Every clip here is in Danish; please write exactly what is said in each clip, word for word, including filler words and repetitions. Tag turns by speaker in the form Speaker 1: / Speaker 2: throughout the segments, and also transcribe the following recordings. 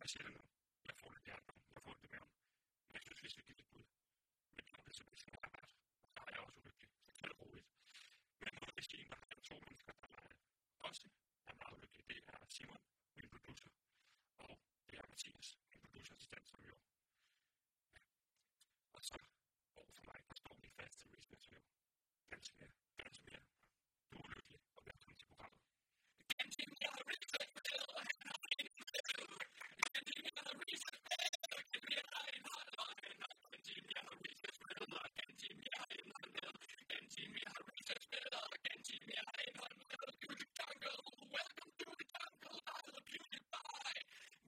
Speaker 1: Jeg siger det nu. Jeg får det hjertet. Jeg får det med ham. Men jeg synes, vi skal give det bud. Men det er simpelthen skal arbejde. Og så er jeg også ulykkelig. Så det er roligt. Men nu er det Stine, der har to mennesker, der også er meget ulykkelige. Det er Simon, min producer. Og det er Mathias, min producerassistent, som jo. Ja. Og så overfor mig, der står min faste researcher. Ganske mere. Ganske mere. Du er ulykkelig, og velkommen til programmet. Ganske mere research med, og han har en med. Ganske mere research med, og ganske mere indhold, og han har ganske mere research med, og ganske mere indhold med. Ganske mere research med, og ganske mere indhold med. Beauty Jungle, welcome to the jungle, I love beauty pie.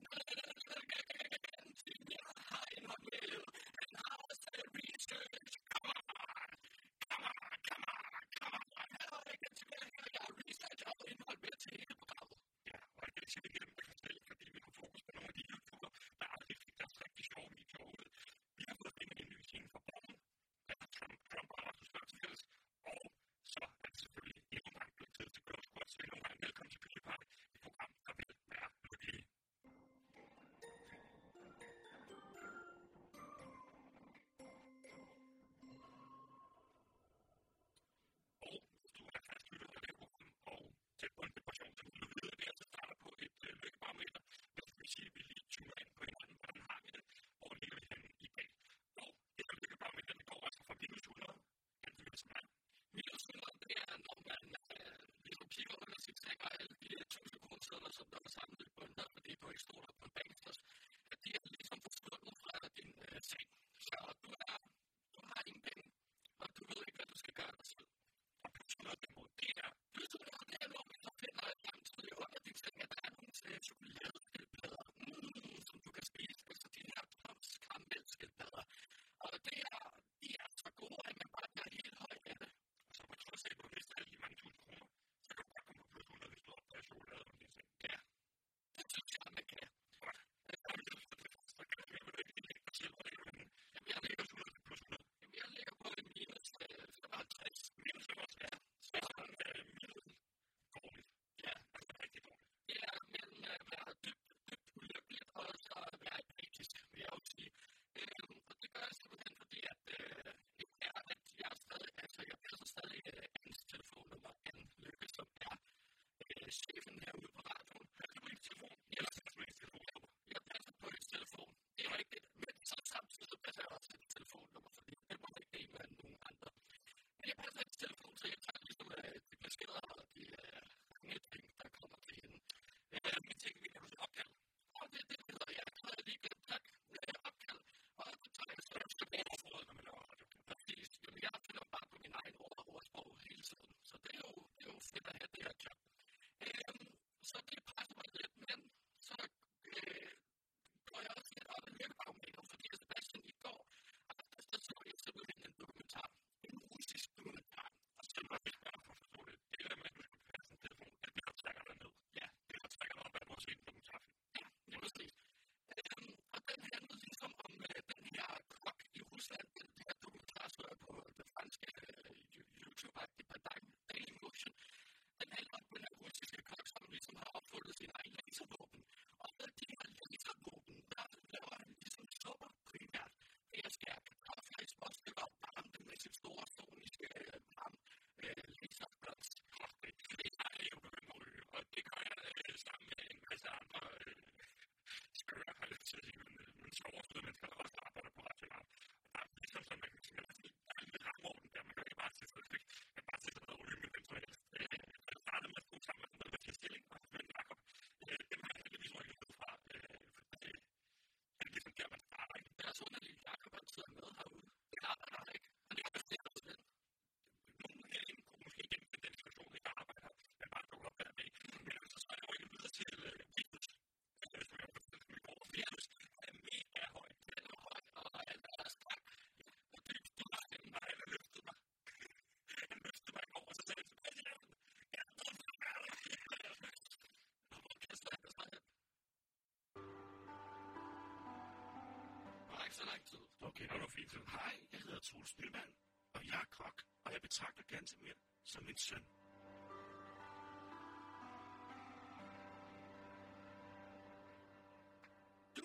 Speaker 1: Ganske mere indhold med, han har også research. Come on, come on, come on, come on. Ganske mere, jeg har research og indhold med til hele programmet. Ja, og det er simpelthen gennem at fortælle, fordi vi har fokus på nogle af de YouTuber, der aldrig fik deres rigtig sjove videoer ud. Vi har fået finde en ny scene fra Borgen, der er Trump, Trump og Rasmus Børsefælles, og så er det selvfølgelig endnu en gang blevet tid til Girls Squad, så endnu en gang velkommen til Beauty Pie, et program, der vil være lykkelige. Og hvis du er fastlytter af det program, og tæt på en depression, så vil du vide, at det altså starter på et øh, lykkebarometer. Det vil sige, at vi lige tuner ind på hinanden, hvordan har vi det, hvor ligger vi henne i dag. Og det her lykkebarometer, det går altså fra minus hundrede, hen til minus hundrede. Minus hundrede, det er, når man øh, ligesom kigger under sit træk og alle de tusind kroner, som der er samlet på en der, fordi du ikke står der på en banksters, at de er ligesom forsvundet fra din øh, seng. Så du, er, du har ingen penge, og du ved ikke, hvad du skal gøre dig selv. Og plus hundrede derimod, det er plus hundrede, det er når man så finder et samtidig under din seng, at der er nogle til chokoladeskildpadder, mm, som du kan spise, altså de her karamellskildpadder. Og det er, de er så gode, at man bare bliver helt høj af det. Og så på trods af, at du har mistet alle de mange tusind kroner, så kan du bare komme på plus hundrede, hvis du opdager chokolade om din seng. Ja, det synes jeg, man kan. Godt. Så kan du jo ikke lægge dig selv, og det er jo en... Jamen, jeg ligger plus hundrede til plus hundrede. Jamen, jeg ligger på en minus femoghalvtreds. Minus femoghalvtreds, ja. Så er sådan øh, minus dårligt. Ja, altså rigtig dårligt. Det er mellem at være dybt, dybt ulykkeligt, og så være empatisk, vil jeg jo sige. Øhm, og det gør jeg simpelthen, fordi at øh, er, at jeg er stadig, altså jeg passer stadig øh, Annes telefonnummer, Anne Lykke, som er øh, chefen herude på radioen. Passer du ikke telefon? Eller passer du ikke telefonnummer? Jeg passer på hendes telefon. Det er rigtigt, men så samtidig så passer jeg også hendes telefonnummer, fordi det må ikke dele med nogen andre. Men jeg passer hendes telefon, så jeg tager ligesom øh, de beskeder og de øh, ting, der kommer til hende. Øh, men tænker vi, kan du sige opkald? Og det er det, der jeg har lige glemt tak. Øh, opkald. Og så tager jeg så tilbage på ordet, når man laver radio. Præcis. Jamen, jeg finder bare på min egen ord og ordsprog hele tiden. Så det er jo, det er jo fedt at have det her job. Øh, så det presser mig lidt, men så øh, går jeg også lidt op i lykkebarometer, fordi Sebastian i går, der så jeg simpelthen en dokumentar. En russisk dokumentar. Og så var det bare for at forstå det. Det der med, at du skal passe en telefon, det er det, der trækker dig ned. Ja, det der trækker dig op, at du har set en dokumentarfilm. Ja, det er præcis. Øhm, og den handlede ligesom om øh, den her kok i Rusland, den her dokumentar, så jeg på det franske øh, YouTube-agtige Padang Daily Motion. Den handler om den her russiske kok, som ligesom har opfundet sin egen laservåben. Og med de her laservåben, der laver han ligesom supper primært. Det er skært kartoffelflæsk, småstykker og varme dem med sit store soniske øh, varme øh, laserblås. Og det er jeg jo begyndt at ryge, og det gør jeg øh, sammen med en masse andre øh, skøre, har jeg lyst til at sige, men, men så overstået mennesker, der også arbejder på radioen. Og der er ligesom sådan, man kan sige, at der er en lille rangorden der, man kan ikke bare sætte sig lidt, man kan bare sætte sig ned og ryge med hvem som helst. Jeg startede med at bruge sammen med noget med stilling, og med Jacob. Dem har jeg heldigvis rykket ud fra, for det er ligesom der, man starter. Det er sådan, at Jacob han sidder med herude. Det arbejder han ikke. Han er også der hos den. Nogen herinde kunne måske gennem den situation, ikke arbejder, men bare dukker op hver dag. Men altså, så er jeg rykket videre til Vitus, som jeg har fortalt mig i går. Vitus er mega høj. Den er høj, og alt er stærk. Og det er du har den, og han har løftet mig. Han løftede mig i går, og så sagde han tilbage til hjem. Jeg er nødt til at være der. Og hvor kaster han dig hen? Det var ikke så lang tid. Okay, det var fint. Hej, jeg hedder Troels Nyman, og jeg er kok, og jeg betragter Gantemir som min søn. Du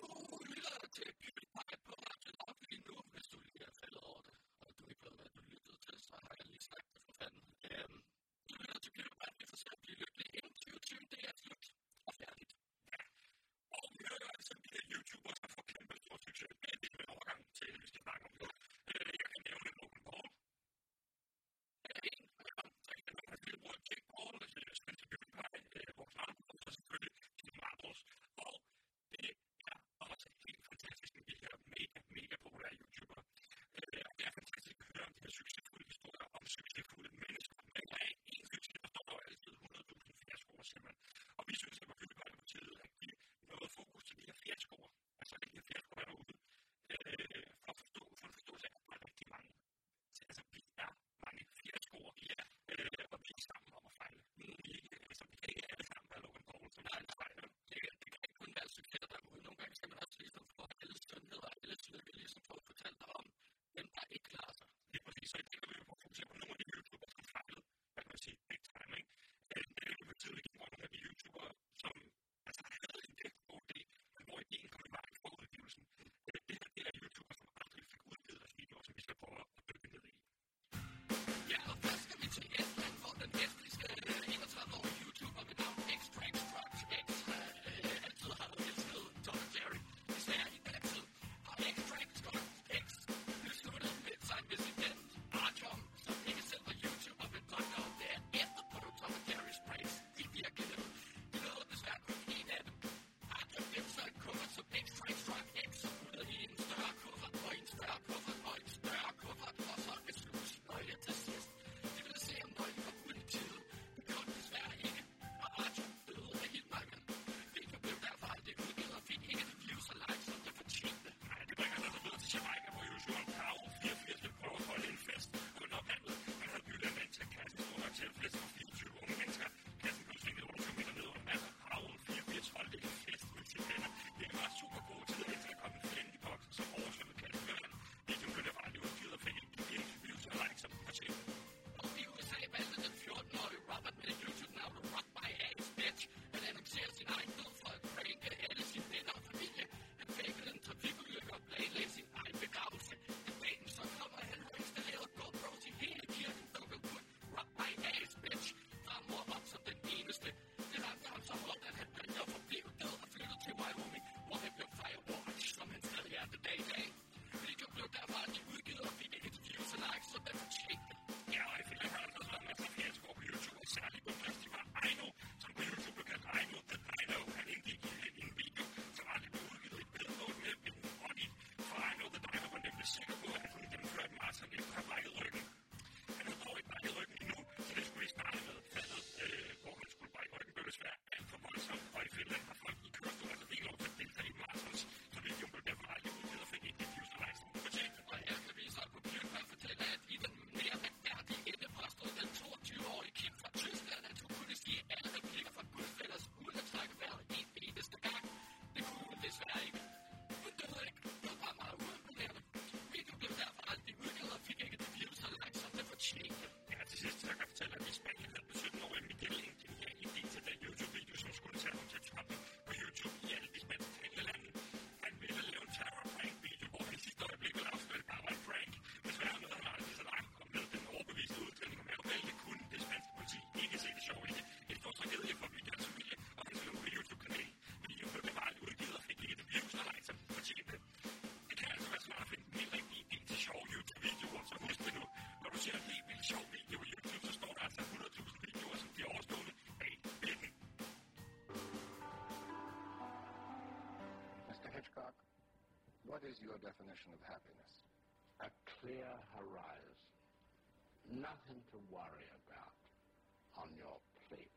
Speaker 2: What is your definition of happiness?
Speaker 3: A clear horizon. Nothing to worry about on your plate.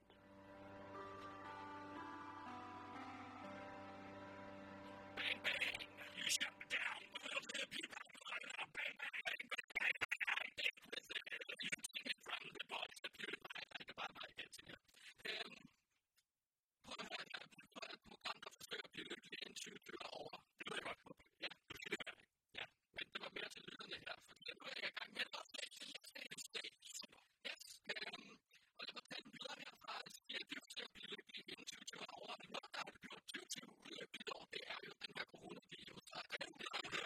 Speaker 1: Bang, bang! You shut me down. Well, the people are going out. Bang, bang, bang, bang, bang, bang. It was there. You take it from the box. The purify like a bad light gets in you. Um, prøv at høre, jeg er et program, der forsøger at blive lykkelig inden tyve tyve over. Det ved jeg godt. Ja, du skal det være. Ja, men det var mere til lyderne her, for nu er jeg i gang med at oplæse. Jeg skal en sted. Super. Yes. Um, og jeg var talt videre herfra, at jeg er forsøger at blive lykkelig inden tyve tyve over. Men noget, der har gjort tyve tyve ulykkeligt år, det er jo den her coronavirus. Der er den der her.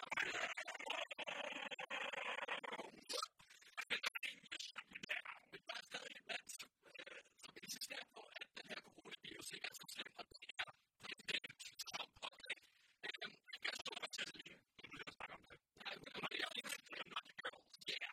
Speaker 1: Men der er stadig et land, som, øh, som insisterer på, at den her coronavirus ikke er så slem, og det er præsident Trump. Øhm, jeg kan stå for til at lide. Nu vil jeg snakke om det. Nej, men jeg er ikke en naughty girl. Yeah.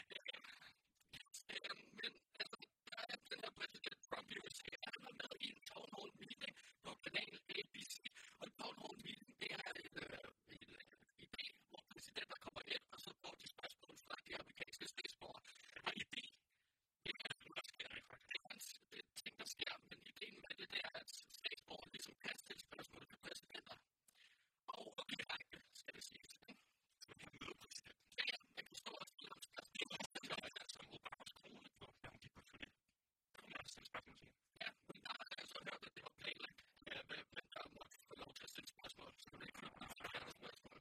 Speaker 1: øhm, men altså, der er den her præsident Trump i U S A, han var med i en town hall meeting på kanal A B C. Og en town hall meeting, det er et, øh, et, øh, idé, hvor præsidenter kommer ind, og så får de spørgsmål fra de amerikanske statsborgere. Og idé, det er det, der sker. Det er hans det er ting, der sker, men ideen med det, det er, at statsborgere ligesom kan stille spørgsmål til præsidenter. Og direkte, skal det siges. Så vi kan møde præsidenten. Ja, ja, man kan stå og stille om spørgsmål. Det er jo som Obamas kone på, da hun gik på turné. Der kunne man stille spørgsmål til hende. Ja, men der har jeg så hørt, at det var planlagt, men der måtte få lov til at stille spørgsmål, så det ikke kunne blive flere spørgsmål.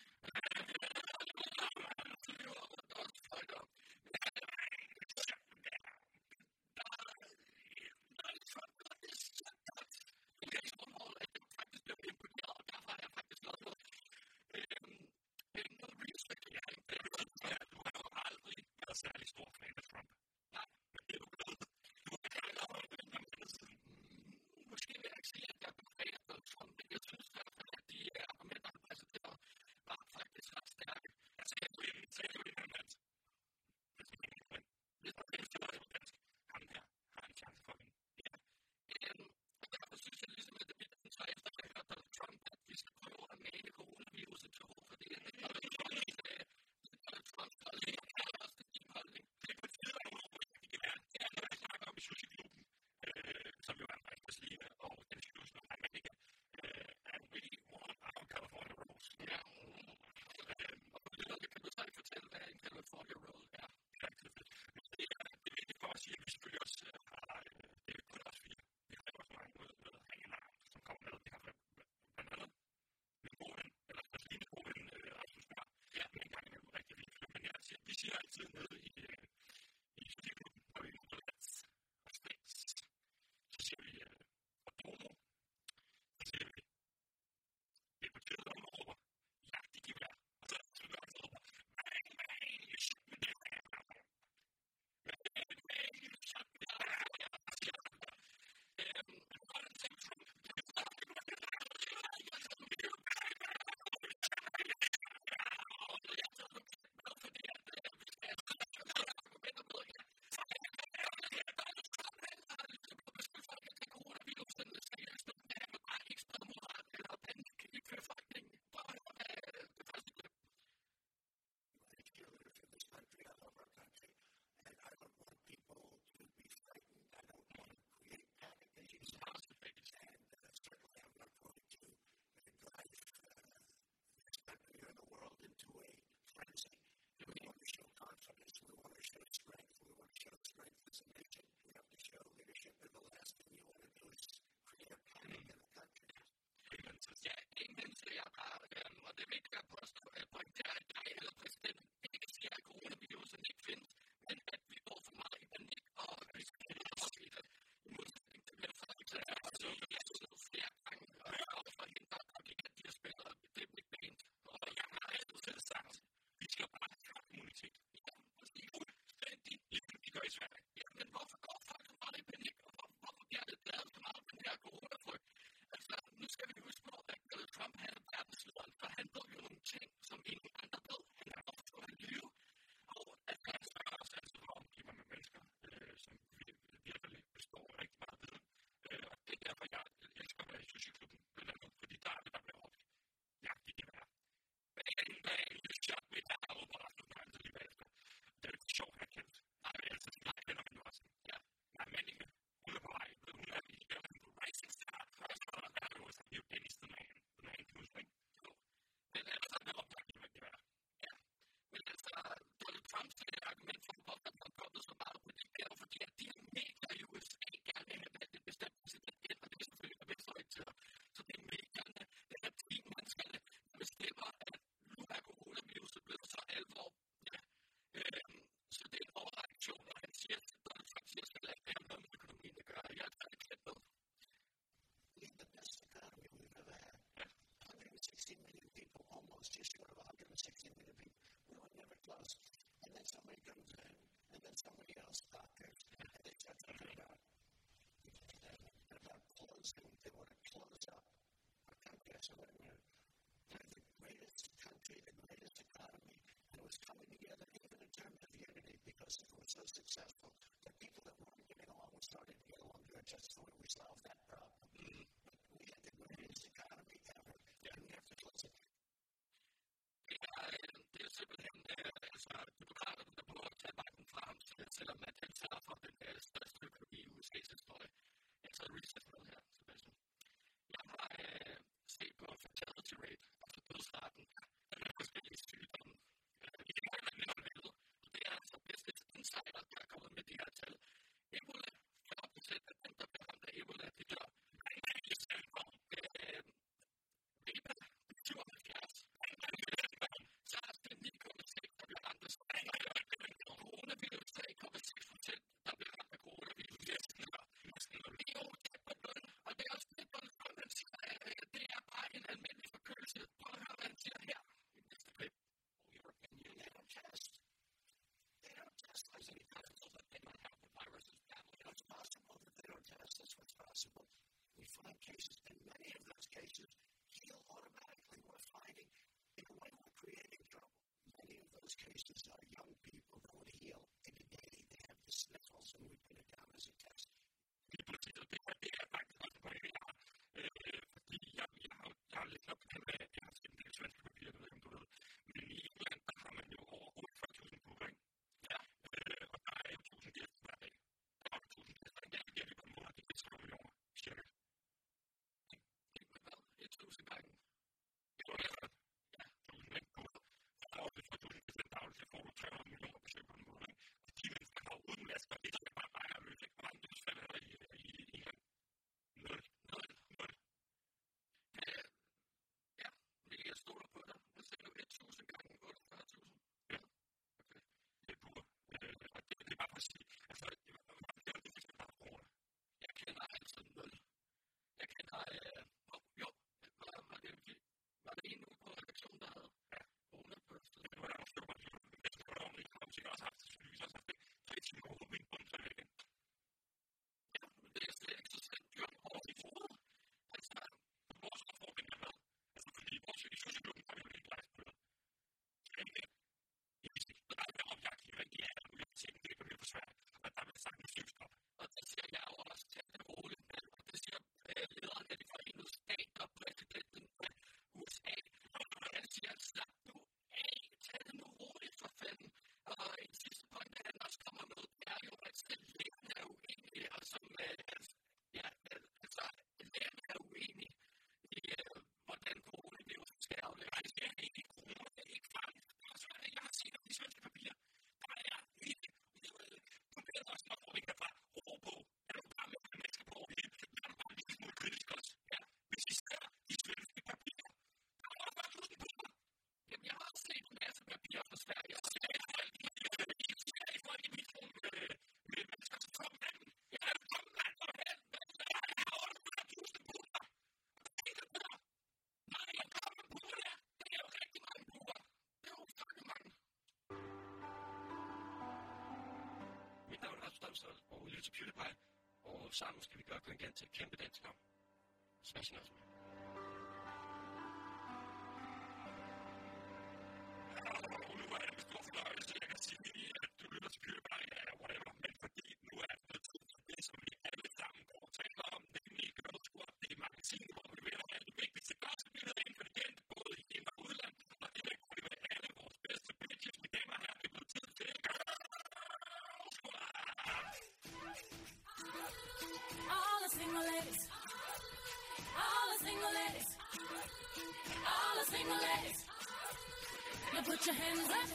Speaker 1: Særlig stor fan af Trump. Nej, men det er du glad. Du er glad over det, men måske vil jeg ikke sige, at jeg er fan af Trump, men jeg synes i hvert fald, at de argumenter, han præsenterer, var faktisk ret stærke. Jeg sagde jo inden, sagde jo inden, at det er ikke men hvis der er det var dansk, ham her har en chance for hende. Ja. Og derfor synes jeg ligesom, at det bliver den så efter, at jeg hørte Donald Trump, at vi skal prøve at male coronaviruset til ro, fordi det er jo ikke Donald Trump, der er lige holdning. Det er på tide, at hun overhovedet er. Det er noget, jeg snakker om i Sushi-klubben, øh, som jo er en rigtig Selina og den skyldes nu, at man ikke er we want our California rolls. Ja. Og på det kan du så ikke fortælle, hvad en California roll er. Ja, det er fedt. Men det er, det er vigtigt for at sige, at vi selvfølgelig også har, det er kun os fire. Vi har også mange med hængelarm, som kommer med. Vi har blandt andet min gode ven, eller Selina gode ven, Rasmus Mør. Ja, men en gang er jo rigtig vigtigt. Men jeg siger, vi siger altid nede i i Sushi-klubben, hvor vi er Let's og Space. Så siger vi og Domo. Så siger vi det er på tide, at hun råber jagt i gevær. Og så er det også råber bang, bang, you shot me down. Bang, bang, you shot me down. Og så siger han bare øhm, what a thing from fordi at
Speaker 4: somebody comes in, and then somebody else doctors, and they start talking about, about closing. They want to close up our country. I said, wait a minute. They're the greatest country, the greatest economy, and it was coming together even in terms of unity because it was so successful. The people that weren't getting along were starting to get along good. That's the way we solved that problem. Mm-hmm. But we had the greatest economy ever, yeah. And we have to close it.
Speaker 5: Ja, det er simpelthen, altså, demokraterne, der prøver at tage vejen frem, selvom at den tager fra den største økonomi i U S A's historie. Jeg tager research med her, Sebastian. Jeg har øh, set på fertility rate, altså dødsraten, af forskellige sygdomme. I det her land er det, og det er altså bedste insider, der er kommet med de her tal. Ebola, jeg har opdateret, at dem, der bliver ramt af Ebola, de dør. Ebola, syvoghalvfjerds. SARS, det er ni komma seks, der bliver ramt af coronavirus, tre komma seks procent, der bliver ramt af coronavirus. E U, og det er også det, man siger, det er bare en almindelig forkølelse. Prøv at høre, hvad han siger her i næste klip. Your opinion, they don't test. They don't test. I said, it's possible that they might have the virus as badly. It's possible that they don't test. That's what's possible. We find cases, and many of those cases heal automatically. We're finding, in a way, we're creating trouble. Many of those cases are young people that would heal in a day. They have the sniffles, and we put it down as a test.
Speaker 1: Det betyder, det her, det er faktisk også på jeg har, øh, fordi jeg, jeg, har, jeg har lidt op på hvad jeg har set en del svenske papirer, det ved jeg, om du ved. Men i England, der har man jo over fyrre tusind på, ikke? Ja. Øh, og der er jo tusind gæster hver dag. Der er jo tusind gæster, der er det på en måned, det er tre millioner, cirka.
Speaker 5: Det er hvad? Et tusind gange?
Speaker 1: Jo, ja. Ja, tusind, ikke? Der er også for tusind gæster dagligt, så får du tre hundrede millioner besøg på en måned, ikke? Og de mennesker har uden masker, det er bare bare at løse, ikke? Og mange dødsfald er der i, i England. Nul. Nul. Nul.
Speaker 5: Ja, ja, men jeg stoler på dig. Hvad siger du? et tusind gange otteogfyrre tusind?
Speaker 1: Ja. Okay. Det er pur. Øh, og det, det er bare for at sige, altså, det er jo det, der er corona.
Speaker 5: Jeg kender altså nul. Jeg kender, øh, oh, jo, var, var, det, var det en uge på redaktionen, der havde
Speaker 1: ja.
Speaker 5: corona på stedet?
Speaker 1: Det var der også, det var der også, det var der også, det var der også, haft det, selvfølgelig også haft det, tre timer overhovedet, men så er det igen.
Speaker 5: Ja, men det er slet ikke så slemt dyrt over i hovedet. Altså,
Speaker 1: vores udfordring er med, altså fordi vores i sociologen har vi jo ikke lagt på det. Så er det ikke, jeg vidste ikke, der er opjagt i rigtig af, og vi har set det, det er for svært, og der vil sagt en sygstop.
Speaker 5: Og det siger jeg jo også til det roligt med, og det siger øh, lederen af de forenede stater, præsidenten af U S A, og han siger, slap nu af, tag det nu roligt for fanden. Og en sidste point, der han også kommer med, det er jo, at lærerne er uenige, og som, øh, ja, altså, lærerne er uenige i, øh, hvordan coronavirus skal aflægges.
Speaker 1: Det er ikke corona, det er ikke farligt. Jeg har set de svenske papirer, der er ikke, du bliver også nok hvor vi kan fra ro på, er du bare med mennesker på over hele, der er bare lidt smule kritisk også. Ja, hvis I ser de svenske papirer, der er også bare tusind på mig.
Speaker 5: Jamen, jeg har set en masse papirer fra Sverige, og
Speaker 1: så er det folk, de er i folk i mit rum med mennesker, som kommer med dem. Jeg er jo kommet langt for held, men jeg har også bare tusind på mig. Og det er det der. Nej, jeg kommer på det. Det er jo rigtig mange buer.
Speaker 5: Det er jo rigtig mange.
Speaker 1: Mit navn er Rasmus Damsdal, og lytter til PewDiePie, og sammen skal vi gøre kongen til et kæmpe dansk navn. Smashing us. Og nu er det med stor fornøjelse, jeg kan sige, at du lytter til PewDiePie, eller whatever, men fordi nu er det tid for det, som vi alle sammen går og taler om, det er nemlig Gørnet Squad, det er magasinet, hvor vi vil have de vigtigste gossip-nyheder inden for det kendte, både i ind- og udland, og det vil kunne være alle vores bedste bitches, mine damer og herrer, det er blevet tid til Gørnet Squad!
Speaker 6: All the single ladies, all the single ladies, all the single ladies, now put your hands up.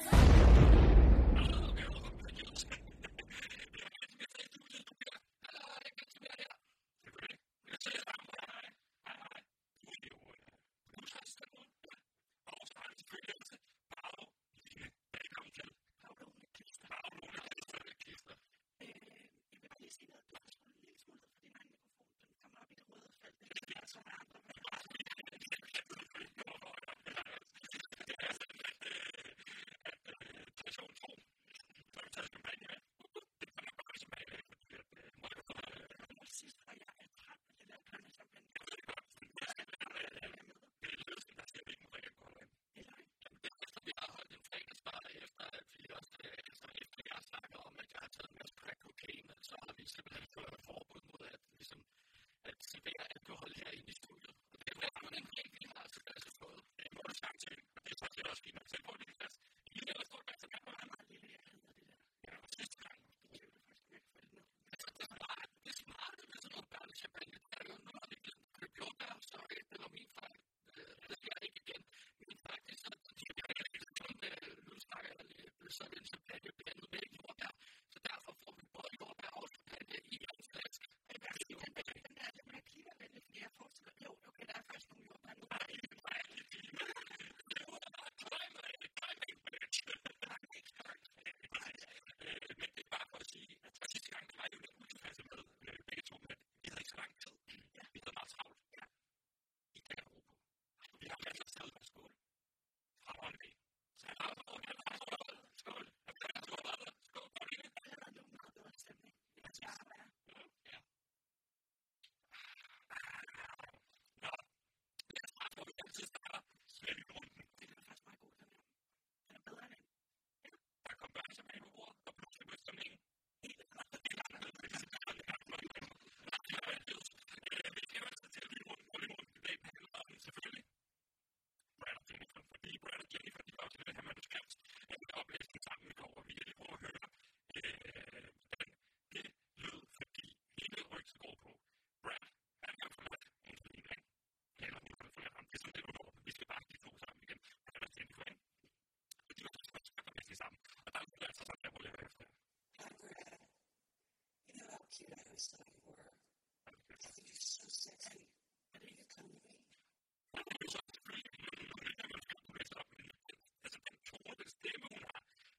Speaker 1: Jennifer, fordi Brad og Jennifer, de var også i den her manuskript, at vi oplæste den sammen i går, og vi kan lige prøve at høre, øh, hvordan det lød, fordi hele rygset går på. Brad, han har forladt Angelina, ikke? Eller hun har forladt ham. Det er sådan lidt udover, vi skal bare de to sammen igen. Brad og Jennifer, ikke? Og de var så skridt og næsten sammen. Og der er jo altså sådan, der må lave efter.
Speaker 4: Hi, Brad. You know how cute I always thought you were? I think you're so sexy. Why don't you come to me?
Speaker 1: Og det er jo så selvfølgelig, når man kan læse op, men altså den tone, den stemme, hun har,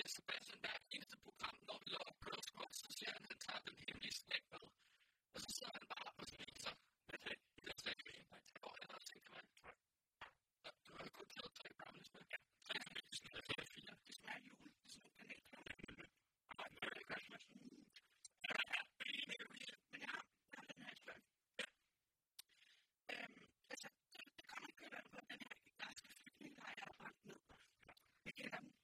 Speaker 5: Per Sebastian hvert eneste program, når vi laver Girl Squad, så siger han, at han tager den hemmelige slægt med. Og så sidder han bare og spiser med det. Det er slet ikke en, der tager eller tænker man. Du har jo kun taget tre brownies med. Ja, tre brownies, det smager fire, fire. Det smager jul, det er sådan nogle kanelkroner. Og der er Merry Christmas. Ja, ja, men jeg har, jeg har den her spørg. Ja. Øhm, altså, det, det kommer ikke købe på den her græske flygtning, der er brændt ned. Jeg kender dem.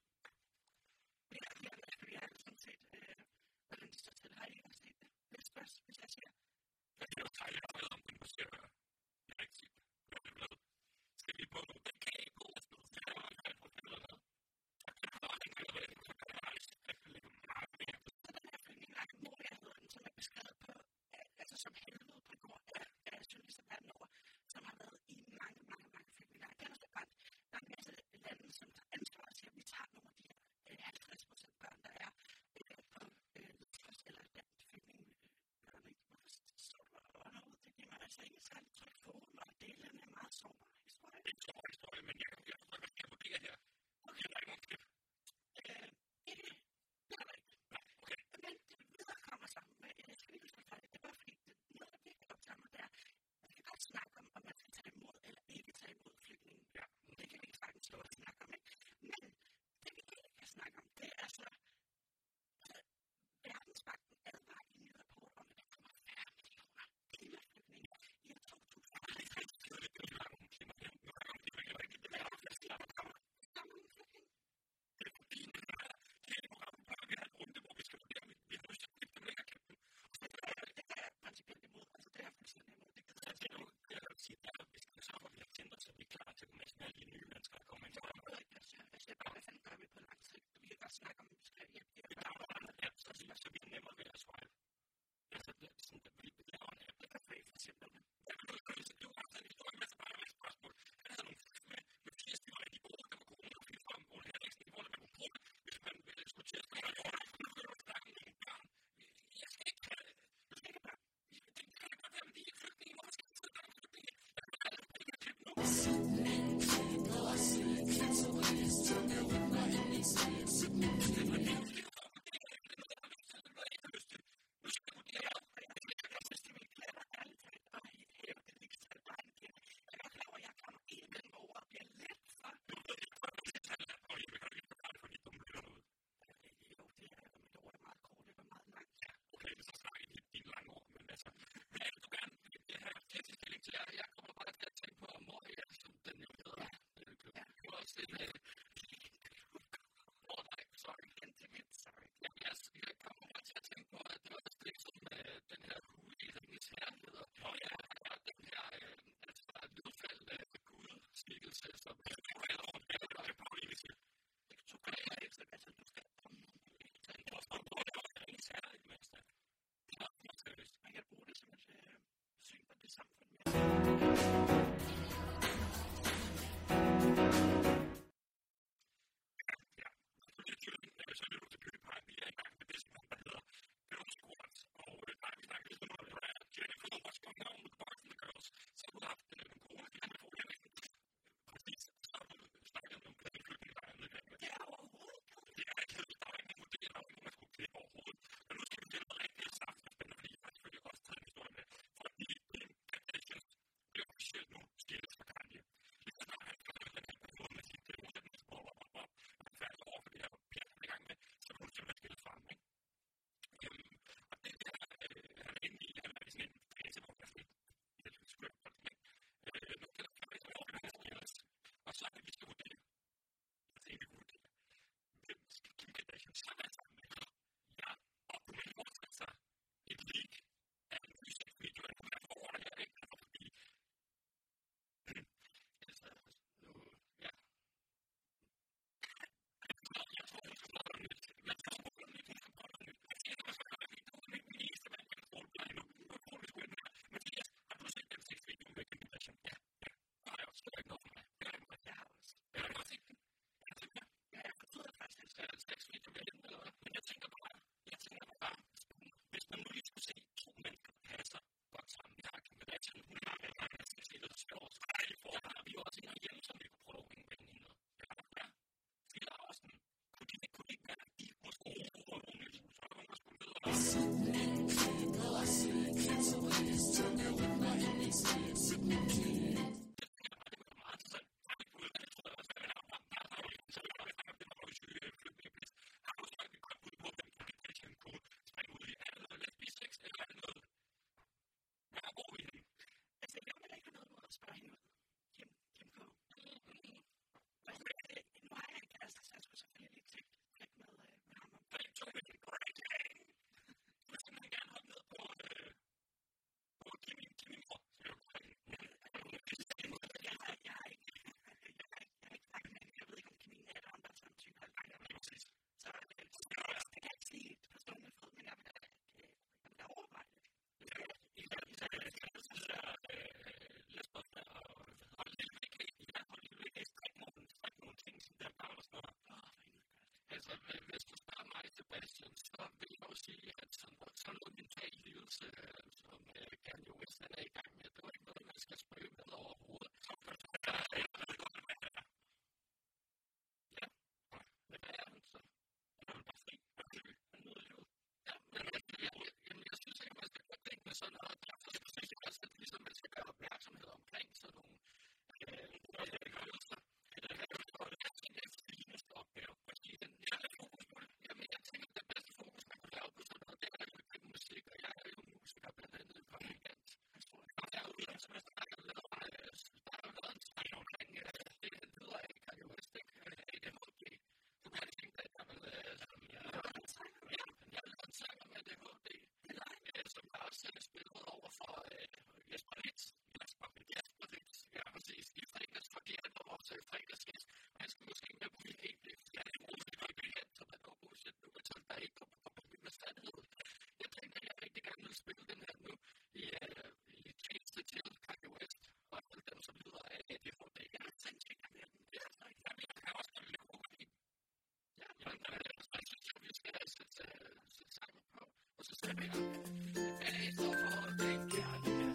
Speaker 5: Jeg har her med, jeg har sådan set, øh, hvordan de står til, har jeg ikke set det. Det er spørg, hvis jeg siger. Jeg kan jo tage jer med om den, du ser, jeg har ikke set det. Hvad er det med? Skal vi på nogle kage på? Det er jo ikke på det eller noget. Jeg kan bare ikke gøre det, så kan jeg rejse. Jeg kan lægge meget mere. Så den her flygtning, der er Moria, hedder den, som er beskrevet på, altså som helvede på grund af, af journalister verden over, som har været i mange, mange, mange flygtninge. Det er også godt. Der er en masse lande, som tager ansvar til, at vi tager nogle af de her halvtreds procent børn, der er øh, på Lutfors eller den flygtningebørn. Hvorfor står du og noget? Det giver mig altså ikke særlig trygt for mig, og det er en meget sårbar historie. Det er en sårbar historie, men jeg kan jo ikke, hvad jeg vurderer her. Okay, der er ikke nogen klip. Øh, ikke. Det er der ikke. Nej, okay. Men det videre kommer sammen med, jeg skal ikke huske for det, det er bare fordi, det er noget, der virkelig optager mig, det er, at vi kan godt snakke om, om man skal tage imod eller ikke tage imod flygtningen. Ja. Det kan vi ikke sagtens stå og snakke om, ikke? Men det vi ikke kan snakke om, det er så, at Verdensbanken advarer i en rapport om, at der kommer færre millioner klimaflygtninge i to tusind og halvtreds. Det er jo ikke nogen klimaflygtninge. Nu er det ikke rigtigt. Det er jo ikke rigtigt, at der kommer mange flygtninge. Det er fordi, det er hele programmet, bare vi har en runde, hvor vi skal vurdere, om vi har lyst til at klippe dem længere klippe dem. Det er jeg principielt imod. Altså, det er jeg fuldstændig imod. Det er det nu, jeg vil sige, at vi skal sørge for, at vi har tændt os, så vi er klar til at komme med alle de nye mennesker, der kommer ind. Det er jo ikke, jeg siger, jeg siger bare, hvad fanden gør vi på lang sigt? Vi kan godt snakke om, at vi skal hjælpe. Vi laver en anden app, så vi er nemmere ved at swipe. Altså, det er sådan, at vi laver en app, der kan føre for eksempel. Jeg vil nødt til at det var sådan en historie med, så bare med et spørgsmål. Han havde nogle med, med firs timer i de ord, der var corona, og fire frem, og her ikke sådan, hvor man kunne bruge det, hvis man skulle til at snakke om det. Nu vil du snakke om nogle børn. Jeg skal ikke have du skal ikke børn. Det kan godt være, men de er ikke flygtninge. Hvorfor skal de sidde der og flygtninge? Jeg kan bare ikke have klippe nu. Cancel this, tell me what my N B C som Kanye West er i gang med. Det var ikke noget, man skal spøge med overhovedet. Ja, men hvad er han så? Han er bare fri. Han nyder livet. Ja, men jeg, jeg, jeg, jeg synes ikke, man skal gøre ting med sådan noget. Derfor synes jeg også, at ligesom man skal gøre opmærksomhed omkring sådan nogle øvelser. Det er den fineste opgave. Fordi den er fokus på det. Jamen, jeg tænker, at det bedste fokus, man kan lave på sådan noget, det er jo ikke musik, og jeg er jo musiker blandt andet fra Weekend. Og der er jo en, som jeg snakker lidt om, der er jo lavet en sang omkring, det lyder af Kanye West, A D H D. Du kan ikke tænke dig, at jeg vil lave en sang. Ja, men jeg vil lave en sang om A D H D, som jeg også har spillet over for Jesper Ritz. Jesper Ritz, ja, præcis. I fredags, fordi han var vores fredagsgæst, og han skal måske med på min E P, fordi han er roligt og ikke kendt, så man går bullshit nu, men så er der ikke på min med sandhed. Jeg tænker, at jeg rigtig gerne vil spille den her nu i, uh, i tjeneste til Kanye West, og alle dem, som lyder af A D H D. Jeg har tænkt, at jeg vil det her snak. Jeg kan også gerne lide kokain. Ja, men jeg synes, at vi skal sætte sammen på, og så ser vi her. A D H D kærlighed.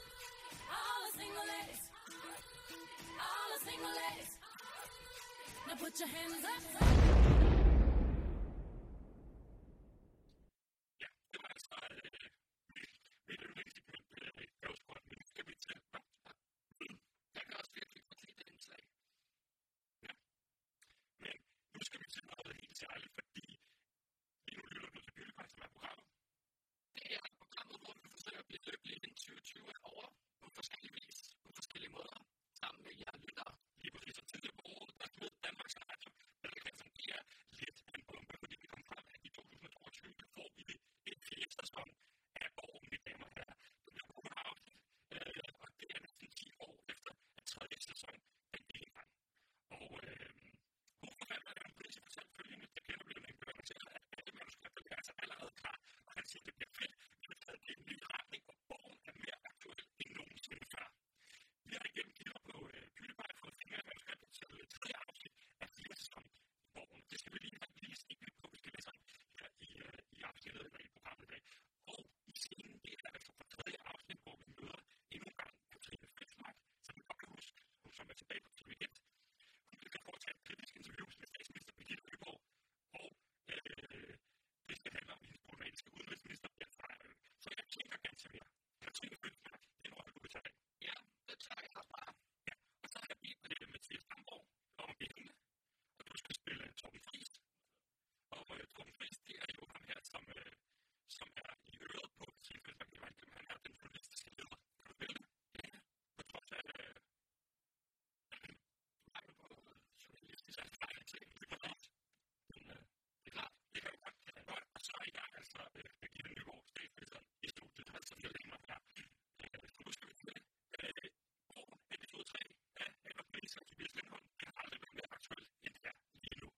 Speaker 6: No Now put your hands up.
Speaker 1: Ja, det var altså øh, mit yndlingssegment, øh, Girls Squad, men nu skal vi til, hvad?
Speaker 5: Jeg kan også virkelig få til det indslag.
Speaker 1: Ja, men nu skal vi til noget helt særligt, fordi lige nu lytter du til PewDiePie, som er programmet.
Speaker 5: Det er programmet, hvor vi forsøger at blive lykkelige inden tyve tyve er over på forskellige vis, på forskellige måder, sammen med jer lyttere.
Speaker 1: Lige præcis, og tidligere på året, der smed Danmarks Radio, der kan fungere lidt af en bombe, fordi vi kom frem, at i to tusind og toogtyve får vi en fjerde sæson af År, mine damer og herrer. Det bliver på afsnit, øh, og det er næsten ti år efter, at tredje sæson den gik i gang. Og øh, hovedforfatteren er en pris for selv følgende, der kender bliver en bøger til, at alle manuskripter er altså allerede klar, og han siger, at det bliver fedt, vi vil tage det i en ny retning, og bogen er mere aktuel end nogensinde før. Vi har igennem kilder på øh, PewDiePie fået fingre af manuskriptet til tredje afsnit af fjerde sæson i bogen. Det skal vi lige have lige se på, vi skal læse om her i, øh, i afsnittet eller i programmet i dag. Og i scenen, det er altså fra tredje afsnit, hvor vi møder endnu en gang Katrine Fritzmark, som vi godt kan huske, hun som er tilbage på T V et. Hun vil kan foretage et kritisk interview med statsminister Birgitte Nyborg, og øh, det skal handle om hendes problematiske udenrigsminister, Bjørn Frejerø. Så jeg tænker ganske mere. Katrine Fritzmark, det er noget, du kan tage af.
Speaker 5: Ja, det tager jeg bare.
Speaker 1: Ja, og så har jeg bedt med det Mathias Damborg om at binde, og du skal spille Torben Friis. Og øh, Torben Friis, det er jo ham her, som, øh, som er i øret på Katrine Fritzmark. Han er den journalistiske leder. Kan du spille det? Ja, på trods af øh, mangel på journalistisk erfaring til det er klart. Men øh, det er klart, det kan jo godt være godt. Og så er i gang altså øh, Birgitte Nyborg, statsministeren i studiet, altså vi har længere her. Øh, så nu skal vi til øh, år episode tre af Edvard Benson og Tobias Lindholm. Det har aldrig været mere aktuelt end det er lige nu.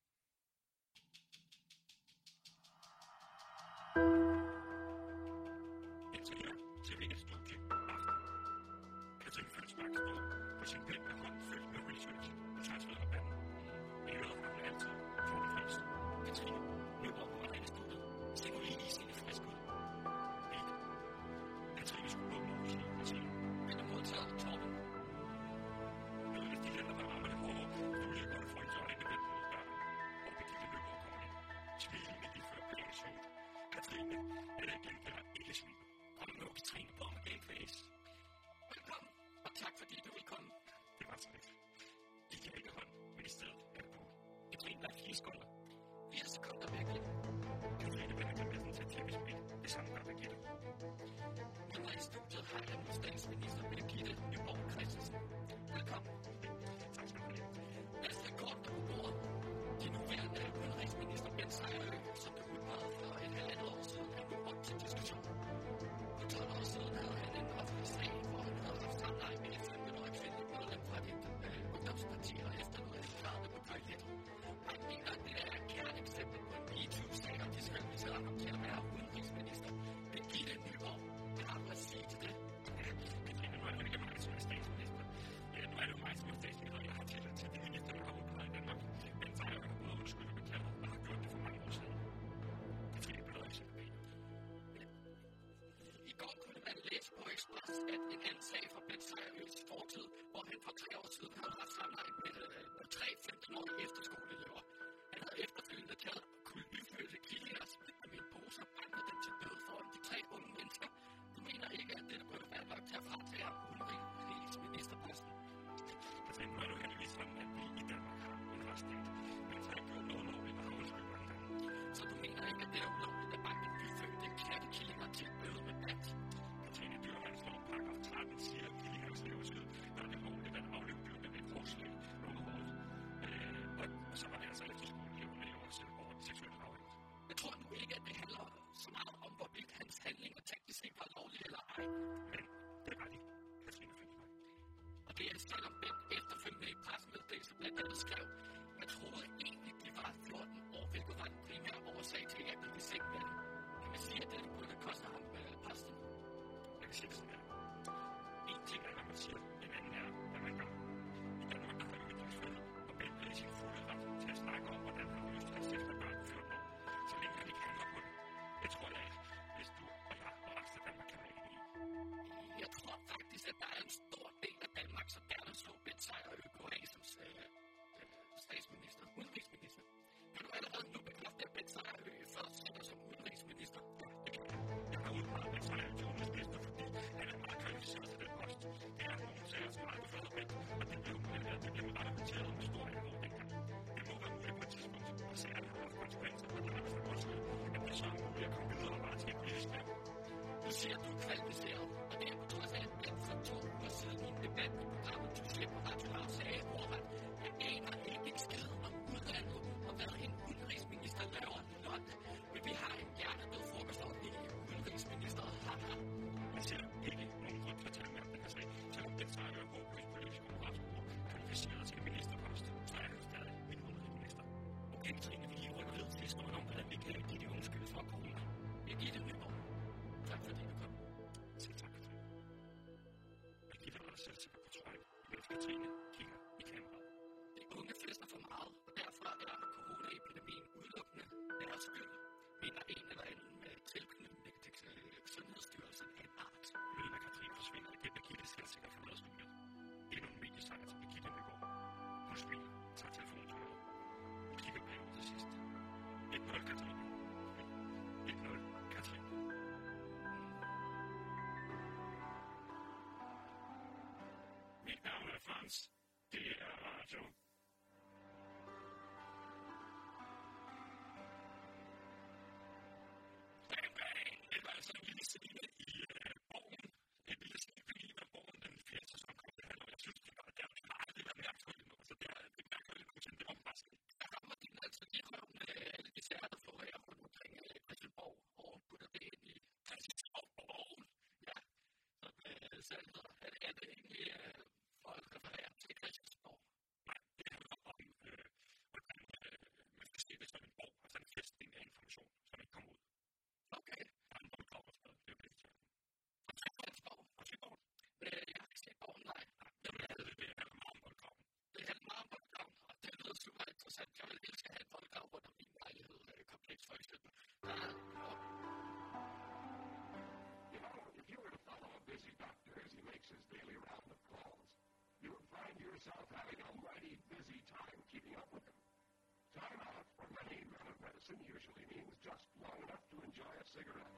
Speaker 1: Indtil her til V S-studie aften. Katrine Fritzmark står på sin pind med hånden fyldt med research og tøjsved og vand. I øret har hun altid Torben Friis. Katrine, Nyborg på vej i studiet. Se nu lige sine frisk ud. Ikke. Katrine skulle åbne over sig og sige,
Speaker 5: Men er modtaget Torben.
Speaker 1: jeg ved, at de hænder, der rammer det hårde, du vil godt få en så øjne vendt mod døren, hvor Birgitte Nyborg kommer ind. Smilende lige før pæne suit. Katrine, eller igen, der ikke smil.
Speaker 5: Kom nu, Katrine, på med gameface. Velkommen, og tak fordi du vil komme.
Speaker 1: Det var så lidt. I kan ikke hånd, men i stedet er det på.
Speaker 5: Katrine, der er fire sekunder. Fire sekunder virkelig.
Speaker 1: Katrine vender gemessen til tv-spil. Det samme gør Birgitte.
Speaker 5: Med mig i studiet har jeg nu statsminister Birgitte Nyborg Christensen. Velkommen.
Speaker 1: Tak skal du have.
Speaker 5: Lad os tage kortene på bordet. De nuværende udenrigsminister Bent Sejerø, som blev udpeget for et halvandet år siden, er nu op til diskussion. For tolv år siden havde han en offentlig sag, hvor han havde haft samleje med et femten-årig kvindeligt medlem fra dit øh, ungdomsparti og efterlod en klarne på toilettet. Han mener, at det er et kerneksempel på en MeToo-sag, og de skal invitere ham til at være udenrigsminister. Birgitte Nyborg, hvad har du at sige til det?
Speaker 1: Ja, Katrine, nu er det ikke mig, som er statsminister. Ja, nu er det jo mig, som er statsminister, og jeg har tillid til de minister, der har udpeget i Danmark. Men så har jeg jo både undskyldt og beklaget, og har gjort det for mange år siden. Katrine, bedre eksempel på en.
Speaker 5: I går kunne man læse på Express, at en anden sag fra Bent Sejerøs fortid, hvor han for tre år siden havde haft samleje med, med tre femten-årige efterskoleelever. Han havde efterfølgende taget nyfødte killinger smidt med en pose og banket dem til døde foran de tre unge mennesker. Du mener ikke, at det burde være nok til at fratage ham udenrigsministerposten?
Speaker 1: Katrine, nu er det jo heldigvis sådan, at vi i Danmark har en retsstat. Men så har ikke gjort noget lovligt, og har undskyldt mange gange.
Speaker 5: Så du mener ikke, at det er ulovligt at banke nyfødte kattekillinger til døde med band?
Speaker 1: Katrine, dyreværnslov paragraf tretten siger, at killinger skal leves ud, når det er lovligt at afløbe dyrene med et krogslæg under hovedet. Øh, og, og så var det altså efterskoleeleverne jo også over seksuelt afhængigt.
Speaker 5: Jeg tror nu ikke, at det handler så meget om, hvorvidt hans handlinger teknisk set var lovlige eller ej.
Speaker 1: Men det var de, Katrine Fritzmark.
Speaker 5: Og det er selvom Bent efterfølgende i pressemeddelelse blandt andet skrev, jeg troede egentlig, de var fjorten år, hvilket var den primære årsag til, at jeg blev i seng med dem. Kan man sige, at det burde koste ham øh, posten?
Speaker 1: Jeg kan sige det sådan her. En ting er, hvad man siger, en anden er, hvad man gør. I Danmark der har vi ytringsfrihed, og Bent er i sin fulde ret til at snakke om, hvordan han har lyst til at sætte med børn på fjorten år, så længe han ikke handler på det. Det tror jeg ikke, hvis du og jeg og resten af Danmark kan være enige i.
Speaker 5: Jeg tror faktisk, at der er en stor del af Danmark, som gerne så Bent Sejerø gå af som, øh, siger, at du er kvalificeret, og det er på trods af, at for to uger siden i en debat i programmet, du slipper på Radio Loud, sagde ordret, jeg aner ikke en skid om udlandet, og hvad en udenrigsminister laver i London. Men vi har en hjernedød frokostordning i udenrigsministeriet.
Speaker 1: Jeg ser ikke nogen grund til at tage med den her sag, selvom den så er håbløst politisk konkurrenceord kvalificeret til ministerpost, så er jeg jo stadig min udenrigsminister. Okay, Trine, vi lige rykker ned til historien om, hvordan vi kan give de undskyld for corona.
Speaker 5: Jeg giver det Nyborg. Tak fordi du kom.
Speaker 1: Selv tak, Katrine. Jeg giver dig selv sikkert på tøj, mens Katrine kigger i kameraet.
Speaker 5: De unge fester for meget, og derfor er coronaepidemien udelukkende deres skyld, mener en eller anden med tilknytning til Sundhedsstyrelsen af en art.
Speaker 1: Mener Katrine forsvinder igen, og Gitte selv sikkert forlader studiet. Endnu en mediesejr til Birgitte Nyborg. Hun smiler, tager telefonen til øret. Hun kigger bag ud til sidst. et nul Katrine. et nul Katrine. Mit navn er Frans. Det er radio. Bang, bang. Det var altså en lille scene i uh, Borgen. En lille scene i Borgen, den fjerde sæson kom det her, og jeg synes, det var der. Det var aldrig været mærkværdigt nu. Så det er det mærkværdigt nu, det var bare sådan.
Speaker 5: Der kommer din altså de røv med alle de sager, der florerer rundt omkring Christiansborg, og putter det ind i Christiansborg. Ja, som uh, selv hedder. Er det, er det egentlig uh, for at referere til Christiansborg?
Speaker 1: Nej, det handler om, øh, hvordan øh, man skal se det som en borg, altså en fæstning af information, som ikke kommer ud.
Speaker 5: Okay.
Speaker 1: Der er en boldgrav, der skal det er jo det, vi tager.
Speaker 5: Og Christiansborg?
Speaker 1: Og Søborg?
Speaker 5: Øh, jeg har ikke set borgen, nej.
Speaker 1: Det er det, det handler meget om boldgraven.
Speaker 5: Det handler meget om boldgraven, og det lyder super interessant. Jeg vil elske at have en boldgrav rundt om min lejlighed, øh, kompleks for eksempel. Der er, og
Speaker 3: You know, if you were to follow a busy doctor as he makes his daily round of calls, you would find yourself having a mighty busy time keeping up with him. Time out for many men of medicine usually means just long enough to enjoy a cigarette.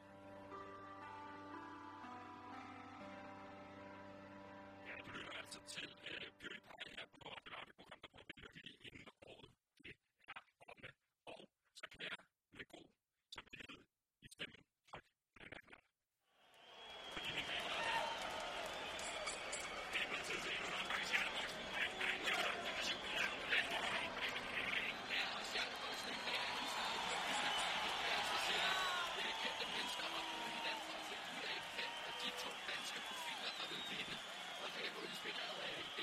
Speaker 1: Ja, du lytter altså til øh, PewDiePie her på Radio Loud, det program, der prøver at lykke lige inden året. Det er omme. Og så kan jeg med god samvittighed i stemmen trykke på den her knap. Fordi min damer og herrer, det er blevet tid til endnu en omgang Stjerneboksen. Bang, bang, ja, det er super, ja, det er bang, bang, bang.
Speaker 5: ja, og Stjerneboksen, det er en sted, hvor vi skal sige, altså siger, det er kendte mennesker, og hinanden for at finde ud af, hvem af de to danske profiler, der vil vinde. Og det er jo inspireret af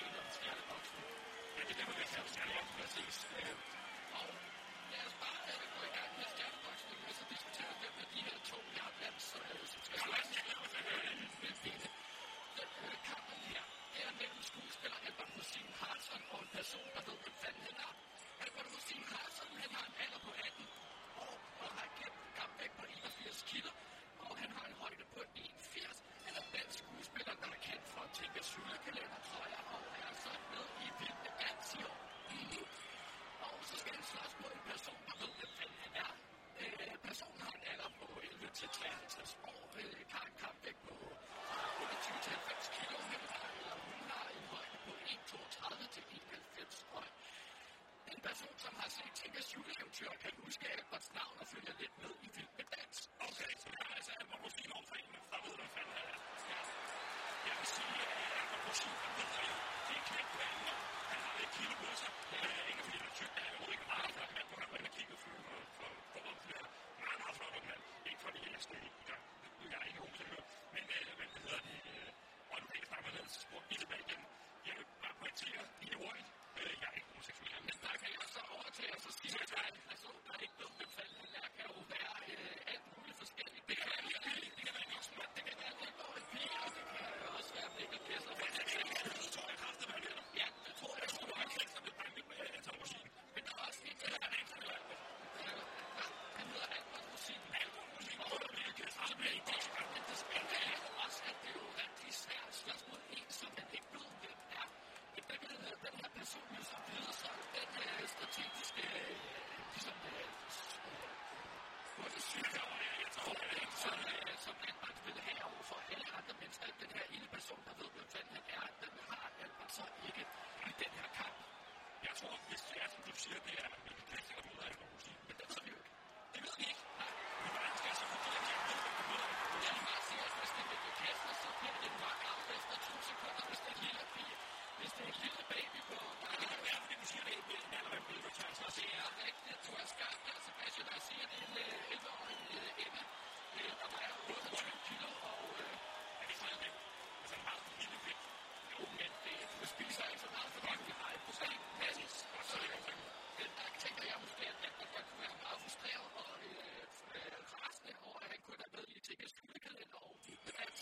Speaker 5: du er skarp der, Sebastian, og siger, at det er en elleve-årig Emma, der vejer otteogtyve kilo, og er det sådan det? Altså en meget lille vægt. Jo, men det, du spiser ikke så meget, for det er meget procent. Præcis, og så er det godt. Men der tænker jeg måske, at jeg godt kunne være meget frustreret og rasende over, at han kun er med i T G's julekalender og i dans.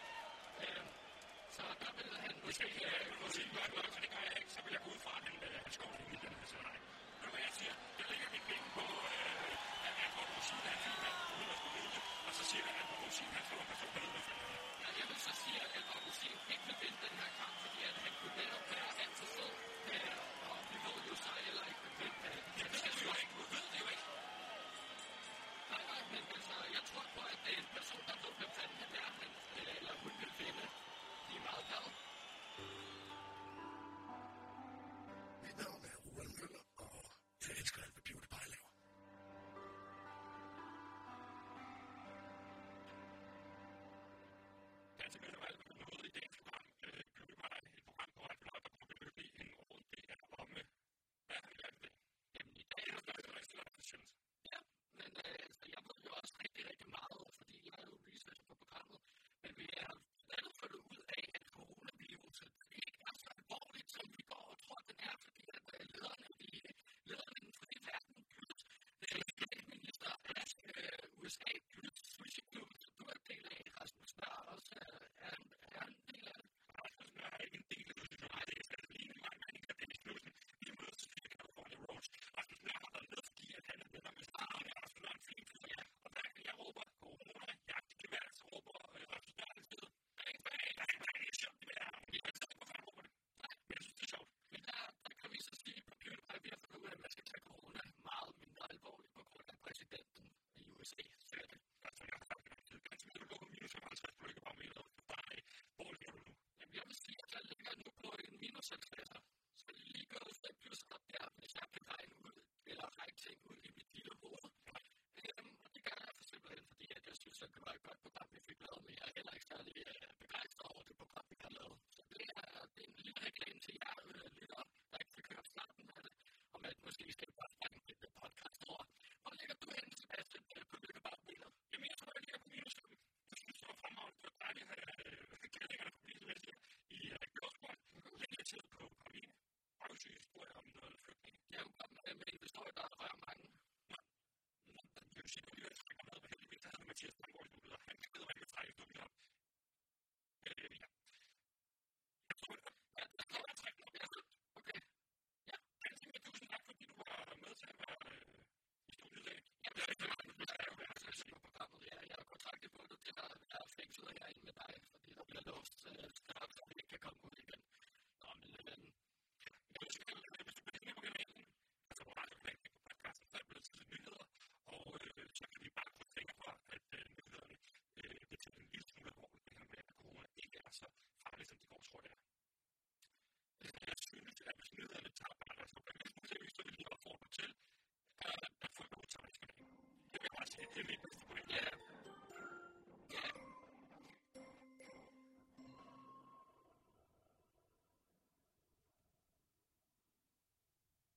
Speaker 5: Så der vil han måske sige noget, og det gør jeg ikke, så vil jeg gå ud fra, at han skal over i den her scenarie. Men hvad jeg siger, jeg lægger mit ben på, at han går på sin af film, uden at skulle vide, og så siger jeg, at han går på sin af film, og så går det ja, jeg vil så sige, at Alvar Rosin ikke vil vinde den her kamp, fordi at han kunne netop være altid så, og vi ved jo så heller ikke, at vinde. Jeg ved det jo ikke, du ved det jo ikke. Nej, nej, men altså, jeg tror på, at det er en person, der ved, hvem fanden han er, men, eller hun vil vinde. De er meget glade.
Speaker 4: Mit navn er Roald Møller, og jeg elsker alt, hvad PewDiePie laver.
Speaker 1: Ganske mere valg med noget i dagens program. PewDiePie, et program på Radio Loud, der kommer til at blive en rundt det er om, hvad har vi lært i dag? Jamen i dag er det jo rigtig langt, synes
Speaker 5: ja, men altså, jeg ved jo også rigtig, rigtig meget, fordi jeg er jo researcher på programmet, men vi er lavet fundet ud af, at coronaviruset ikke er så alvorligt, som vi går og tror, den er, fordi at lederne i lederne i den frie verden, Gyldt, statsminister af U S A, Gyldt, Sushi Gyldt, du er en del af, Rasmus Nør også er en del af det.
Speaker 1: Rasmus Nør er ikke en del af det, nej, det er stadig lige en lang mening, at det er Knudsen, vi mødes til fire California Rose. Rasmus Nør har været med, fordi at han er venner med Starne, og Rasmus Nør er en fin fyr, ja. Og hver gang jeg råber corona, jagt i gevær, så råber Rasmus Nør en sted. Bang, bang, bang, bang, det er sjovt, det er. Jeg ved ikke, hvorfor han råber det. Nej, men jeg synes, det er sjovt.
Speaker 5: Men der, der kan vi så sige på PewDiePie, vi har fundet ud af, at man skal tage corona meget mindre alvorligt på grund af præsidenten i U S A. Så er det.
Speaker 1: Altså, jeg har sagt, at det er ganske mere, du lukker minus femoghalvtreds på lykkebarometer. Hvor ligger du nu?
Speaker 5: Jamen, jeg vil sige, at jeg ligger nu på en minus halvtreds. Så lige går det et plus op der, hvis jeg kan regne ud, eller regne ting ud i mit lille hoved. Øhm, og det gør jeg for simpelthen, fordi at jeg synes, at det var et godt program, vi fik lavet, men jeg er heller ikke særlig øh, begejstret over det program, vi har lavet. Så det er, det er en lille reklame til jer øh, lytter, der ikke fik hørt starten af det, om at måske skal bare fange et podcast over. Hvor ligger du hen, Sebastian, på lykkebarometer?
Speaker 1: Jamen, jeg tror, jeg ligger på minus fem. Jeg synes, det var fremragende. Det var dejligt at have kældingerne på minus fem i Gjordsborg. Længe tid på Paris. Røvsyge historie om noget flygtning.
Speaker 5: Det er jo godt med en historie, der rører mange.
Speaker 1: Nå, det vil sige, at jeg trækker med, og heldigvis der havde Mathias Langgaard i studiet, og han kan bedre, hvad jeg kan trække i studiet op. Øh, ja. Jeg tror, det
Speaker 5: ja, der kommer jeg trække op. Ja, okay. Ja.
Speaker 1: Ganske mere tusind tak, fordi du var med til at være i studiet i dag.
Speaker 5: Ja, det er ikke meget, men jeg er jo værd til på programmet. Ja, jeg har kontraktet på det til at være fængslet herinde med dig, fordi der bliver låst straks, så vi ikke kan komme ud igen. Nå, men øh,
Speaker 1: jeg vil sige, at hvis du bliver med på kanalen, altså på radiokanalen på podcasten, så er det blevet til nyheder, og øh, så kan vi bare få tænke på, at øh, nyhederne øh, bliver til en lille smule alvorligt, det her med, at corona ikke er så farligt, som de går, tror jeg. Jeg synes, at hvis nyhederne tager bare deres problem, så vil jeg opfordre til, at folk udtager det. Det vil jeg bare sige, det er mit bedste point.
Speaker 5: ja,